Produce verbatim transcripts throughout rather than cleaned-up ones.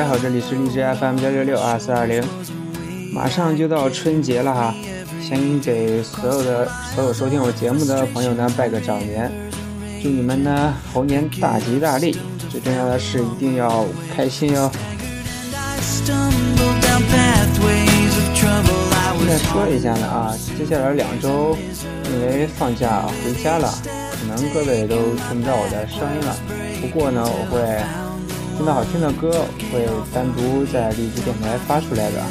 家好，这里是荔枝 F M 幺六六二四二零，马上就到春节了哈，先给所有的所有收听我节目的朋友呢拜个早年，祝你们呢猴年大吉大利，最重要的是一定要开心哟。再说一下呢啊，接下来两周因为放假回家了，可能各位都听不到我的声音了，不过呢我会听到好听的歌会单独在荔枝电台发出来的。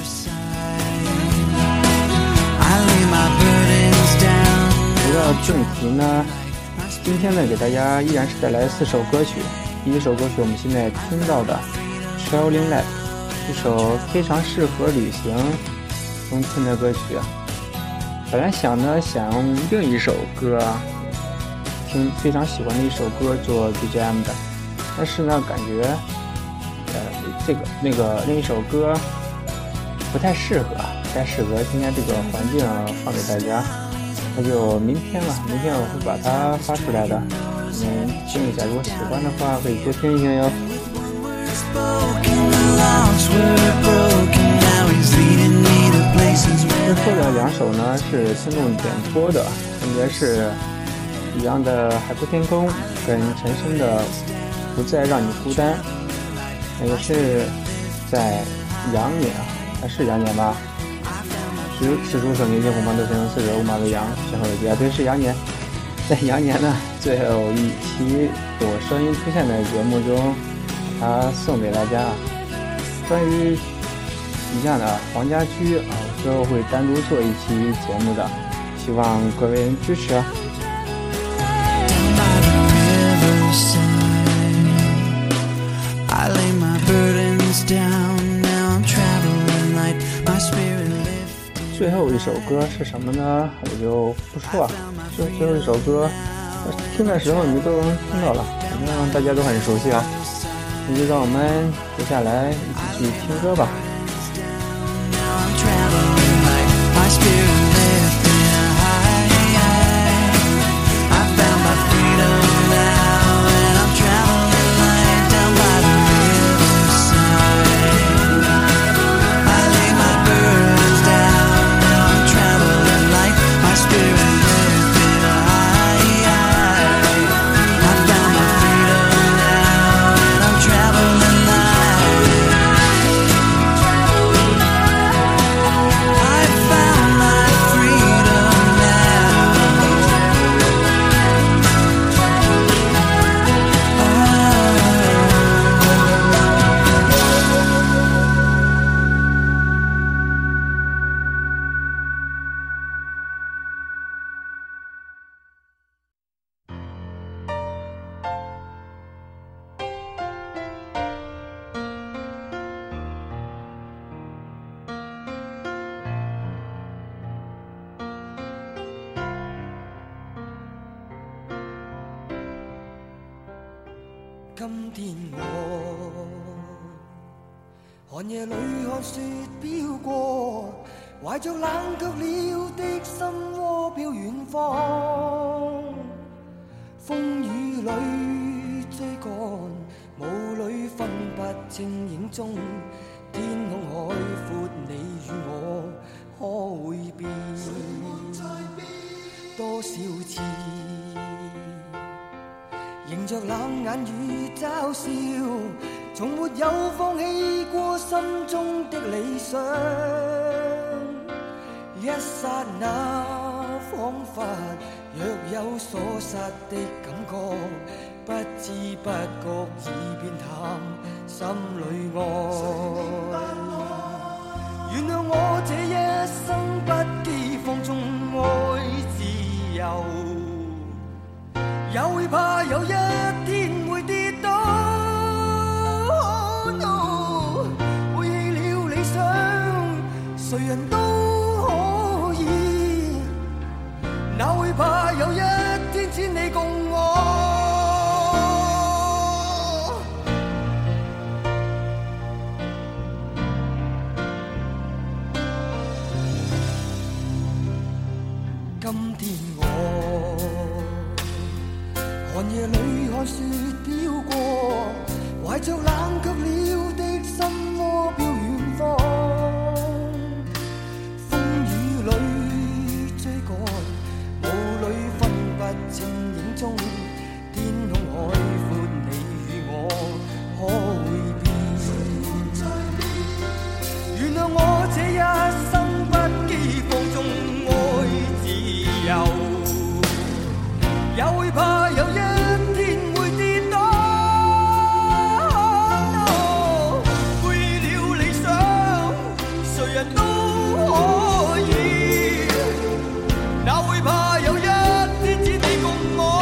回到正题呢，今天呢给大家依然是带来四首歌曲。第一首歌曲我们现在听到的 Traveling Light， 一首非常适合旅行冬天的歌曲。本来想呢想用另一首歌听非常喜欢的一首歌做 B G M 的，但是呢感觉呃这个那个另一首歌不太适合不太适合今天这个环境放给大家，那就明天了，明天我会把它发出来的，你们听一下，如果喜欢的话可以多听一听哟。之后的两首呢是听众点播的，分别是一样的海阔天空跟陈升的不再让你孤单，也是在羊年啊，是羊年吧，十十出生年轻红方都生四者五马为羊，然后也对是羊年。在羊年呢最后一期我声音出现的节目中它送给大家，关于一样的黄家驹啊，之后会单独做一期节目的，希望各位人支持啊。最后一首歌是什么呢？我就不说了，就最后一首歌听的时候你们都能听到了，反正大家都很熟悉啊。那就让我们接下来一起去听歌吧。 今天我寒夜里看雪飘過，懷着冷卻了的心窩飄遠方，風雨裏追趕，霧裏分不清影蹤，天空海闊，你與我可會變多少次，迎着冷眼與嘲笑，從沒有放棄過心中的理想，一剎那彷彿若有所失的感覺，不知不覺已變淡心裏愛，原諒我這一生不羈放縱愛自由，也會怕有一天會跌倒， oh, no, 背棄了理想誰人都可以，哪會怕有一天只你共我，今天我寒夜里看雪飘过，怀着冷却了的心窝飘远方。风雨里追赶，雾里分不清影踪。天空海阔，你与我可会变？原谅我这一生不羁放纵愛自由。也會怕有一天會跌倒，背棄了理想，誰人都可以。哪會怕有一天只你共我。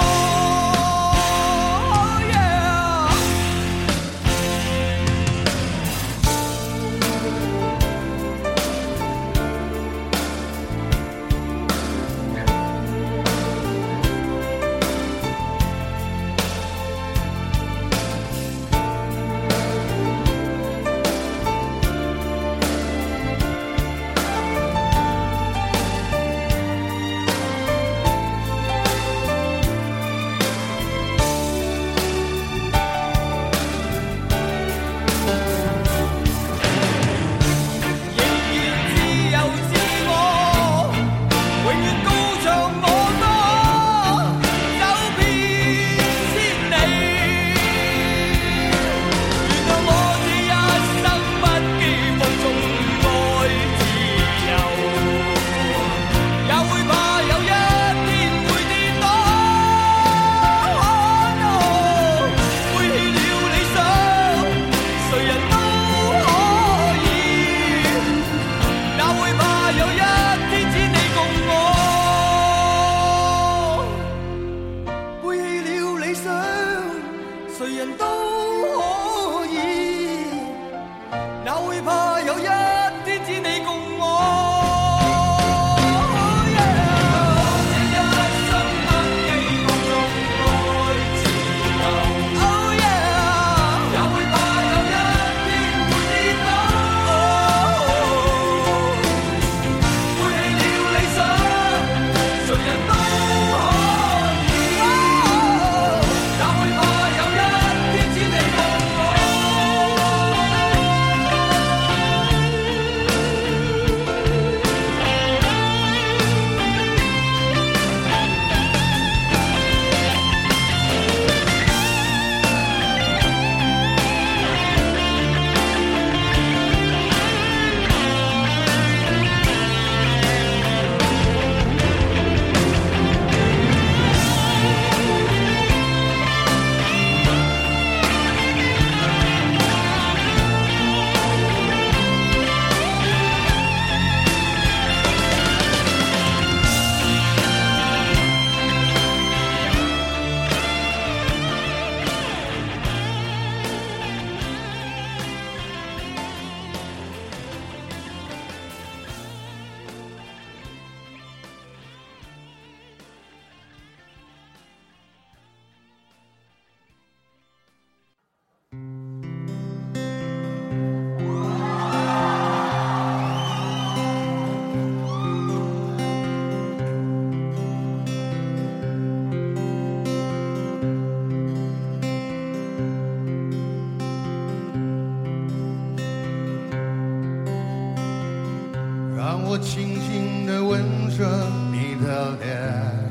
我轻轻地吻着你的脸，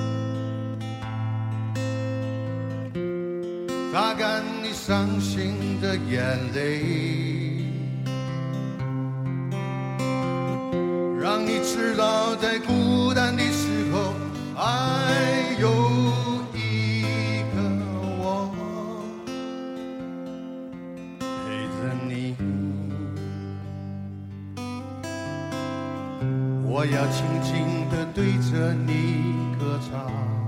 擦干你伤心的眼泪，让你知道在孤单的时候还有一个我陪着你。我要轻轻地对着你歌唱，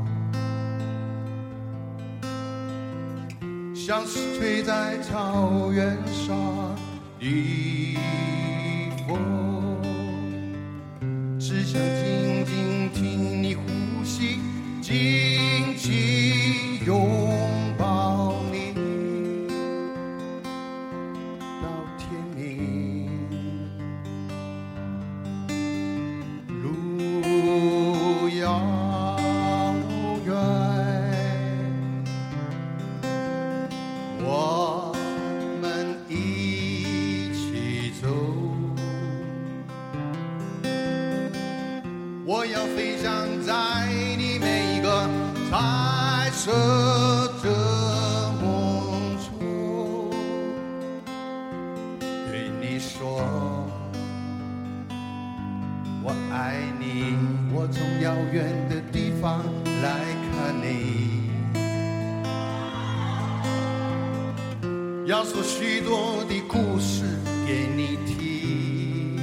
像是吹在草原上的风，只想静静听你呼吸，紧紧拥抱你到天明。路遥远， 飞翔在你每一个彩色的梦中，对你说我爱你，我从遥远的地方来看你，要说许多的故事给你听。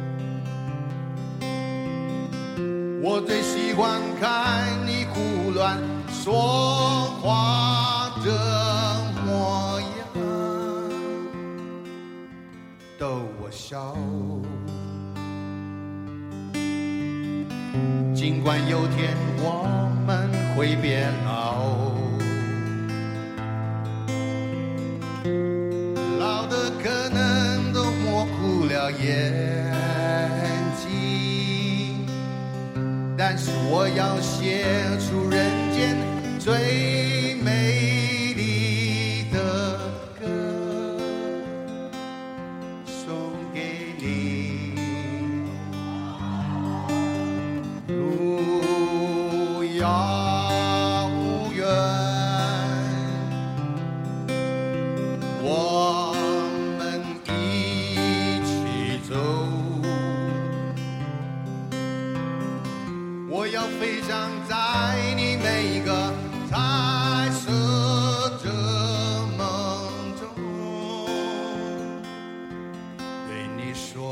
我最喜欢看你胡乱说话的模样，逗我笑。尽管有天我们会变老，老的可能都模糊了眼睛，但是我要写出人间最美丽的歌送给你。路遥远，我们一起走，我要飞翔在你每一个彩色的梦中，对你说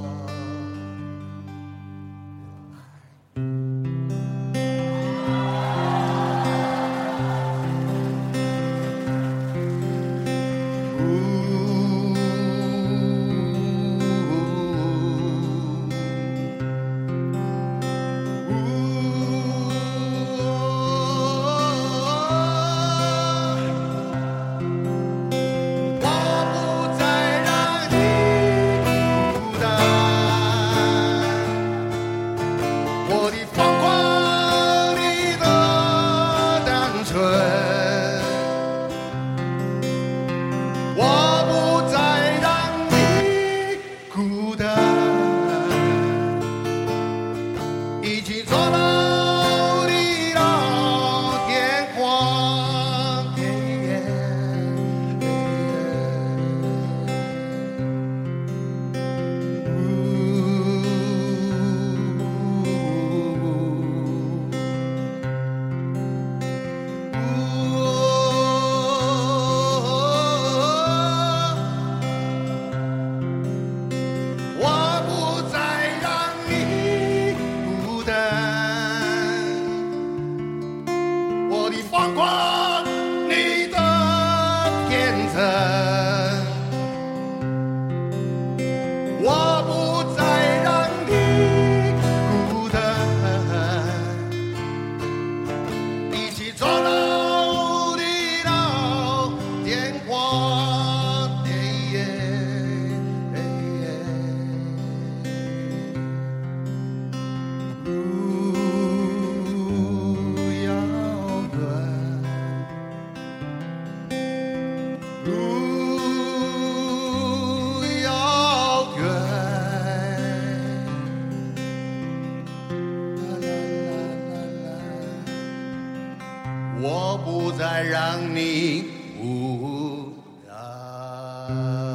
放过你的天真，我不再让你孤单，一起走到地老天荒。我不再让你孤单。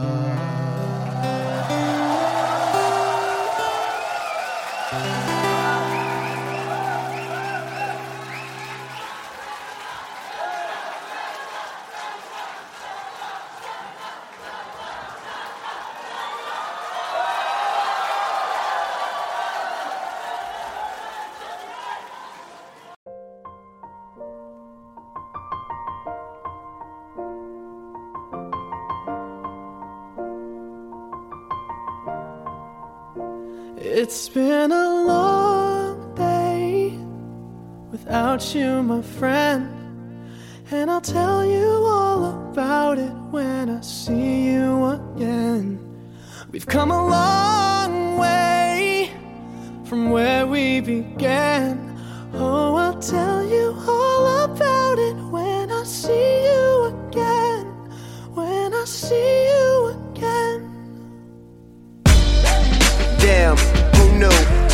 It's been a long day without you, my friend, and I'll tell you all about it when I see you again. We've come a long way from where we began. Oh, I'll tell you all about it when I see you again, when I see you again. Damn, who knew?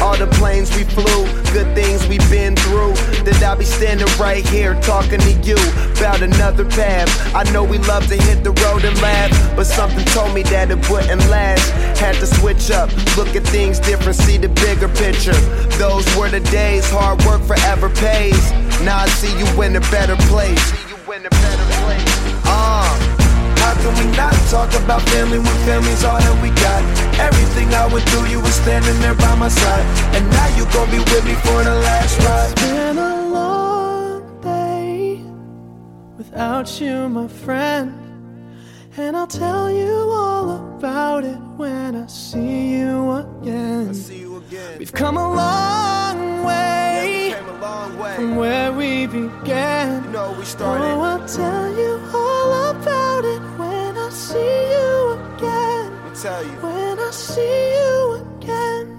All the planes we flew, good things we've been through. That I'll be standing right here talking to you about another path. I know we love to hit the road and laugh, but something told me that it wouldn't last. Had to switch up, look at things different, see the bigger picture. Those were the days, hard work forever pays. Now I see you in a better place. See you in a better place. Uh, how can we not talk about family when family's all that we got? Everything I went through, you were standing there by my side, and now you gon' be with me for the last ride. It's been a long day without you, my friend, and I'll tell you all about it when I see you again. I see you again. We've come a long way, yeah, we came a long way from where we began. You know we started. Oh, I'll tell you all about it when I see you again. Let me tell you. When I see you again.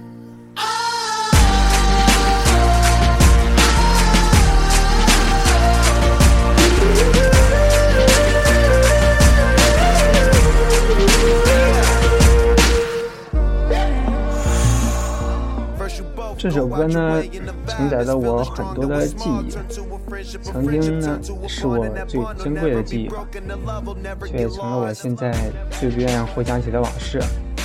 这首歌呢，承载了我很多的记忆，曾经呢是我最珍贵的记忆，却也成了我现在最不愿意回想起的往事。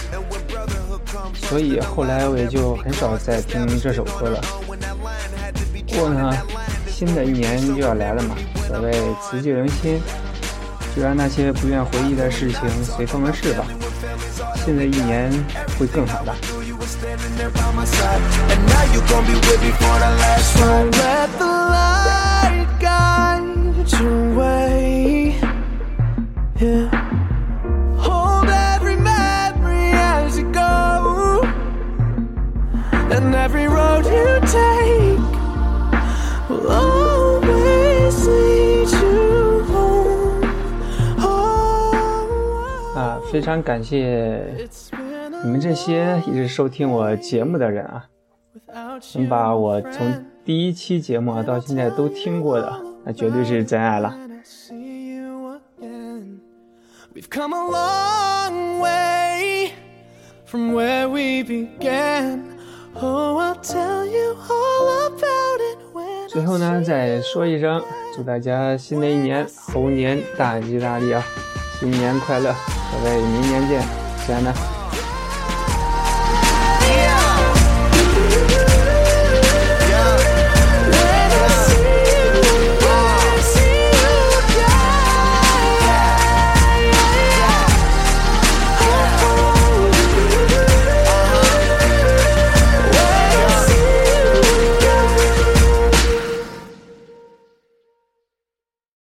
所以后来我也就很少再听这首歌了。不过呢，新的一年就要来了嘛，所谓辞旧迎新，就让那些不愿回忆的事情随风而逝吧。新的一年会更好的。 Standing there by my side, and now you gon' be with me for the last ride. Don't let the light guide your way. Yeah. Hold every memory as you go, and every road you take will always lead you home. Oh, 啊，非常感谢你们这些一直收听我节目的人啊，能把我从第一期节目到现在都听过的，那绝对是真爱了。 We've come a long way from where we began. Oh, I'll tell you all about it when 最后呢，再说一声，祝大家新的一年猴年大吉大利啊！新年快乐，各位明年见，亲爱的。